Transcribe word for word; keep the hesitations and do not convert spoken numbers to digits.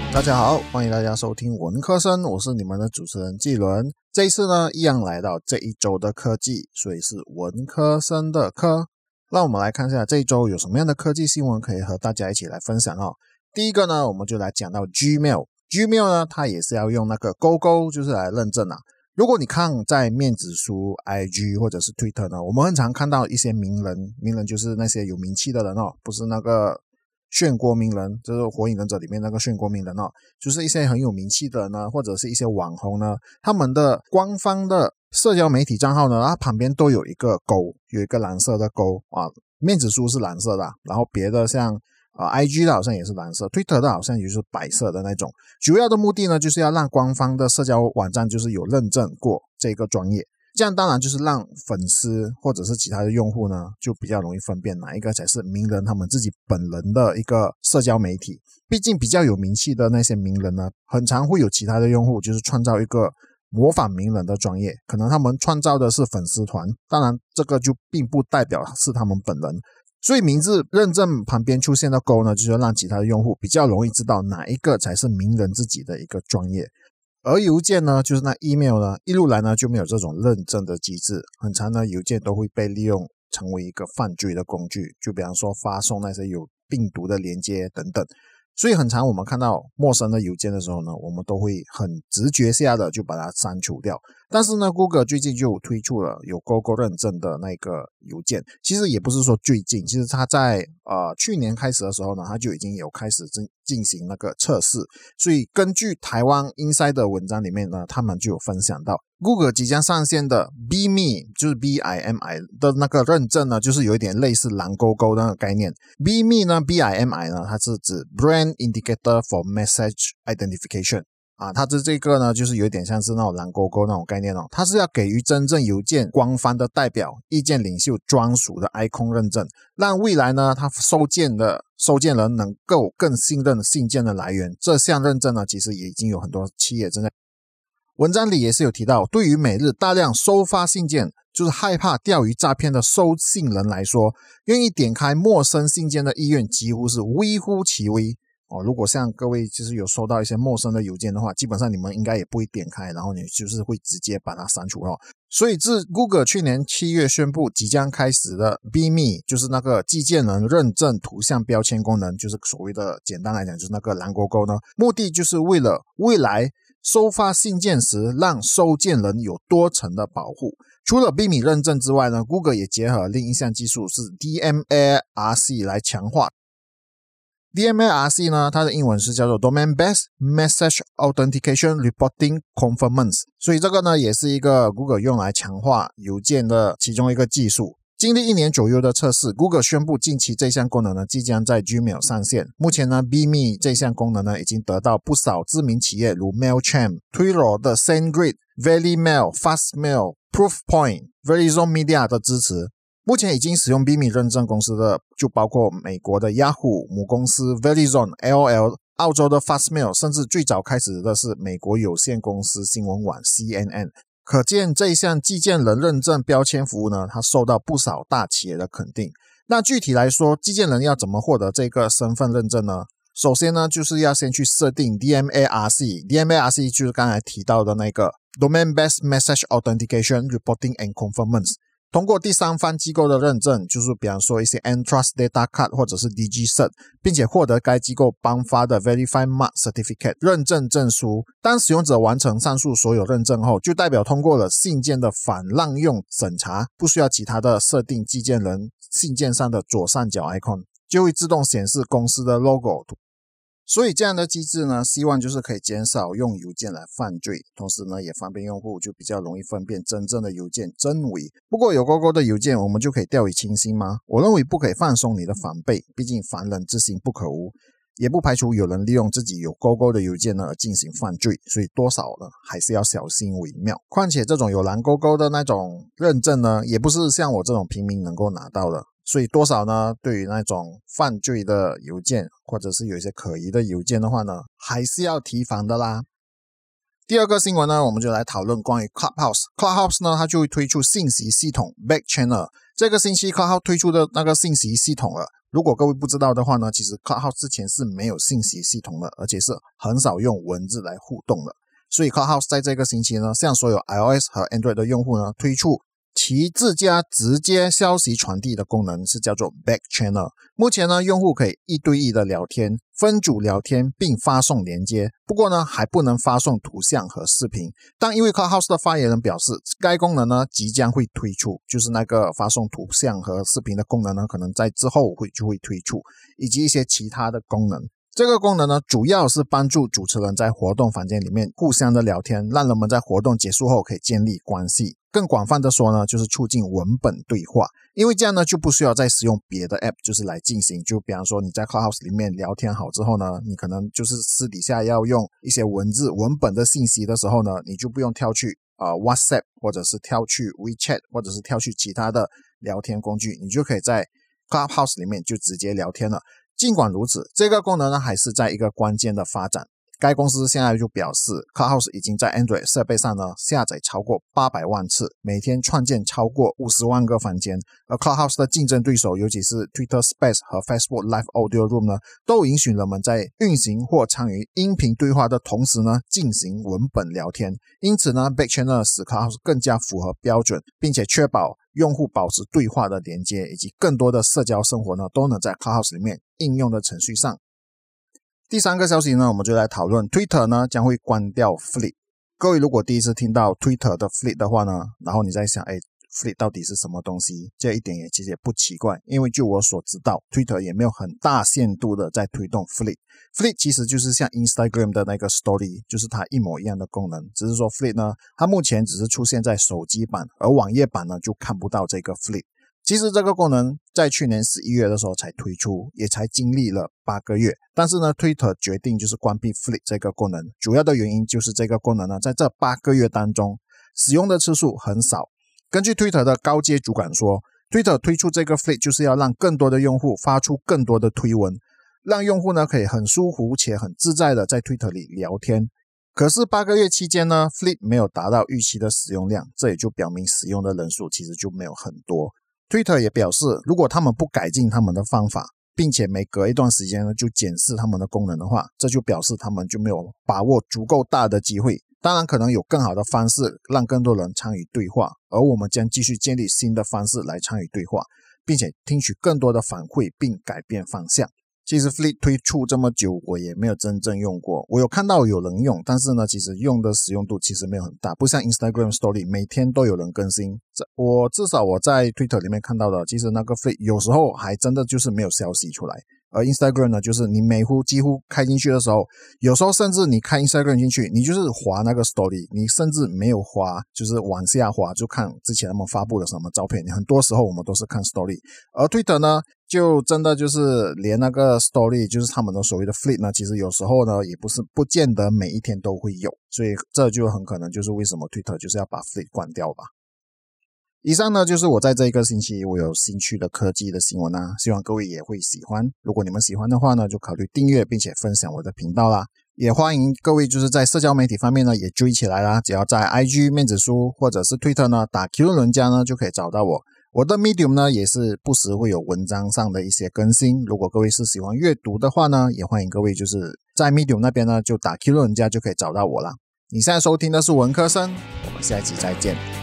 大家好，欢迎大家收听文科生，我是你们的主持人纪伦。这一次呢，一样来到这一周的科技，所以是文科生的科。让我们来看一下这一周有什么样的科技新闻可以和大家一起来分享哦。第一个呢，我们就来讲到 Gmail。Gmail 呢，它也是要用那个勾勾，就是来认证啊。如果你看在面子书 I G 或者是 Twitter 呢，我们很常看到一些名人，名人就是那些有名气的人哦，不是那个漩涡鸣人，就是火影忍者里面那个漩涡鸣人哦，就是一些很有名气的呢，或者是一些网红呢，他们的官方的社交媒体账号呢，它旁边都有一个勾，有一个蓝色的勾啊，面子书是蓝色的，然后别的像呃 I G 的好像也是蓝色， Twitter 的好像也是白色的那种。主要的目的呢，就是要让官方的社交网站就是有认证过这个专业。这样当然就是让粉丝或者是其他的用户呢，就比较容易分辨哪一个才是名人他们自己本人的一个社交媒体。毕竟比较有名气的那些名人呢，很常会有其他的用户就是创造一个模仿名人的专业，可能他们创造的是粉丝团，当然这个就并不代表是他们本人。所以名字认证旁边出现的勾呢，就是让其他的用户比较容易知道哪一个才是名人自己的一个专业。而邮件呢，就是那 email 呢，一路来呢就没有这种认证的机制，很常呢邮件都会被利用成为一个犯罪的工具，就比方说发送那些有病毒的连接等等。所以很常我们看到陌生的邮件的时候呢，我们都会很直觉下的就把它删除掉。但是呢 Google 最近就推出了有勾勾认证的那个邮件，其实也不是说最近，其实它在呃去年开始的时候呢，它就已经有开始进行那个测试。所以根据台湾 Inside 的文章里面呢，他们就有分享到 Google 即将上线的 B M I 就是 B I M I 的那个认证呢，就是有一点类似蓝勾勾的那个概念。 B M I 呢 B I M I 呢，它是指 Brand Indicator for Message Identification啊，它的这个呢，就是有点像是那种蓝勾勾那种概念哦，它是要给予真正邮件官方的代表、意见领袖专属的 icon 认证，让未来呢，它收件的收件人能够更信任信件的来源。这项认证呢，其实也已经有很多企业正在。文章里也是有提到，对于每日大量收发信件，就是害怕钓鱼诈骗的收信人来说，愿意点开陌生信件的意愿几乎是微乎其微。哦，如果像各位就是有收到一些陌生的邮件的话，基本上你们应该也不会点开，然后你就是会直接把它删除哦。所以自 Google 去年七月宣布即将开始的 B M I， 就是那个寄件人认证图像标签功能，就是所谓的简单来讲就是那个蓝勾勾呢，目的就是为了未来收发信件时让收件人有多层的保护。除了 B M I 认证之外呢， Google 也结合另一项技术是 D M A R C 来强化。D M A R C 呢，它的英文是叫做 Domain-Based Message Authentication Reporting Conformance， 所以这个呢也是一个 Google 用来强化邮件的其中一个技术。经历一年左右的测试， Google 宣布近期这项功能呢即将在 Gmail 上线。目前呢 B M I 这项功能呢已经得到不少知名企业如 Mailchimp、Twilio 的 SendGrid、VeryMail、Fastmail、Proofpoint、Verizon Media 的支持。目前已经使用 B M I 认证公司的就包括美国的 Yahoo 母公司 Verizon、A O L、 澳洲的 Fastmail， 甚至最早开始的是美国有线公司新闻网 C N N。 可见这一项寄件人认证标签服务呢，它受到不少大企业的肯定。那具体来说，寄件人要怎么获得这个身份认证呢？首先呢，就是要先去设定 D M A R C， D M A R C 就是刚才提到的那个 Domain-Based Message Authentication Reporting and Conformance。通过第三方机构的认证，就是比方说一些 Entrust Data Card 或者是 DigiCert， 并且获得该机构颁发的 Verified Mark Certificate 认证证书。当使用者完成上述所有认证后，就代表通过了信件的反滥用审查，不需要其他的设定寄件人信件上的左上角 icon， 就会自动显示公司的 logo。所以这样的机制呢，希望就是可以减少用邮件来犯罪，同时呢也方便用户就比较容易分辨真正的邮件真伪。不过有勾勾的邮件我们就可以掉以轻心吗？我认为不可以放松你的防备，毕竟防人之心不可无，也不排除有人利用自己有勾勾的邮件呢而进行犯罪，所以多少呢还是要小心为妙。况且这种有蓝勾勾的那种认证呢，也不是像我这种平民能够拿到的，所以多少呢，对于那种犯罪的邮件或者是有一些可疑的邮件的话呢，还是要提防的啦。第二个新闻呢，我们就来讨论关于 Clubhouse。Clubhouse 呢，它就会推出信息系统 Back Channel。这个星期 Clubhouse 推出的那个信息系统了， 如果各位不知道的话呢，其实 Clubhouse 之前是没有信息系统的，而且是很少用文字来互动的。所以 Clubhouse 在这个星期呢，向所有 iOS 和 Android 的用户呢，推出其自家直接消息传递的功能，是叫做 Back Channel。 目前呢，用户可以一对一的聊天，分组聊天并发送连接，不过呢还不能发送图像和视频。但因为 Clubhouse 的发言人表示，该功能呢即将会推出，就是那个发送图像和视频的功能呢，可能在之后会就会推出，以及一些其他的功能。这个功能呢，主要是帮助主持人在活动房间里面互相的聊天，让人们在活动结束后可以建立关系。更广泛的说呢，就是促进文本对话，因为这样呢就不需要再使用别的 app 就是来进行。就比方说你在 Clubhouse 里面聊天好之后呢，你可能就是私底下要用一些文字文本的信息的时候呢，你就不用跳去呃 WhatsApp 或者是跳去 WeChat 或者是跳去其他的聊天工具，你就可以在 Clubhouse 里面就直接聊天了。尽管如此，这个功能呢还是在一个关键的发展。该公司现在就表示 Clubhouse 已经在 Android 设备上呢下载超过八百万次，每天创建超过五十万个房间。而 Clubhouse 的竞争对手，尤其是 Twitter Space 和 Facebook Live Audio Room 呢，都允许人们在运行或参与音频对话的同时呢进行文本聊天。因此呢 Back Channel 使 Clubhouse 更加符合标准，并且确保用户保持对话的连接，以及更多的社交生活呢都能在 Clubhouse 里面应用的程序上。第三个消息呢，我们就来讨论 Twitter 呢将会关掉 Fleet。 各位如果第一次听到 Twitter 的 Fleet 的话呢，然后你在想，诶 Fleet 到底是什么东西，这一点也其实也不奇怪，因为就我所知道 Twitter 也没有很大限度的在推动 Fleet。 Fleet 其实就是像 Instagram 的那个 Story， 就是它一模一样的功能，只是说 Fleet 呢它目前只是出现在手机版，而网页版呢就看不到这个 Fleet。其实这个功能在去年十一月的时候才推出，也才经历了八个月，但是呢 Twitter 决定就是关闭 Fleet 这个功能，主要的原因就是这个功能呢在这八个月当中使用的次数很少。根据 Twitter 的高阶主管说， Twitter 推出这个 Fleet 就是要让更多的用户发出更多的推文，让用户呢可以很舒服且很自在的在 Twitter 里聊天。可是八个月期间呢 Fleet 没有达到预期的使用量，这也就表明使用的人数其实就没有很多。Twitter 也表示，如果他们不改进他们的方法，并且每隔一段时间呢就检视他们的功能的话，这就表示他们就没有把握足够大的机会。当然可能有更好的方式让更多人参与对话，而我们将继续建立新的方式来参与对话，并且听取更多的反馈并改变方向。其实 Fleet 推出这么久，我也没有真正用过。我有看到有人用，但是呢，其实用的使用度其实没有很大，不像 Instagram Story 每天都有人更新。我至少我在 Twitter 里面看到的，其实那个 Fleet 有时候还真的就是没有消息出来。而 Instagram 呢，就是你每乎几乎开进去的时候，有时候甚至你开 Instagram 进去，你就是滑那个 Story， 你甚至没有滑，就是往下滑就看之前他们发布了什么照片。很多时候我们都是看 Story， 而 Twitter 呢就真的就是连那个 Story 就是他们的所谓的 Fleet 呢，其实有时候呢也不是不见得每一天都会有，所以这就很可能就是为什么 Twitter 就是要把 Fleet 关掉吧。以上呢就是我在这一个星期我有兴趣的科技的新闻啊，希望各位也会喜欢。如果你们喜欢的话呢，就考虑订阅并且分享我的频道啦。也欢迎各位就是在社交媒体方面呢也追起来啦，只要在 I G 面子书或者是 Twitter 呢打 Q 伦家呢就可以找到我。我的 Medium 呢也是不时会有文章上的一些更新，如果各位是喜欢阅读的话呢，也欢迎各位就是在 Medium 那边呢就打 Q 伦家就可以找到我啦。你现在收听的是文科生，我们下一集再见。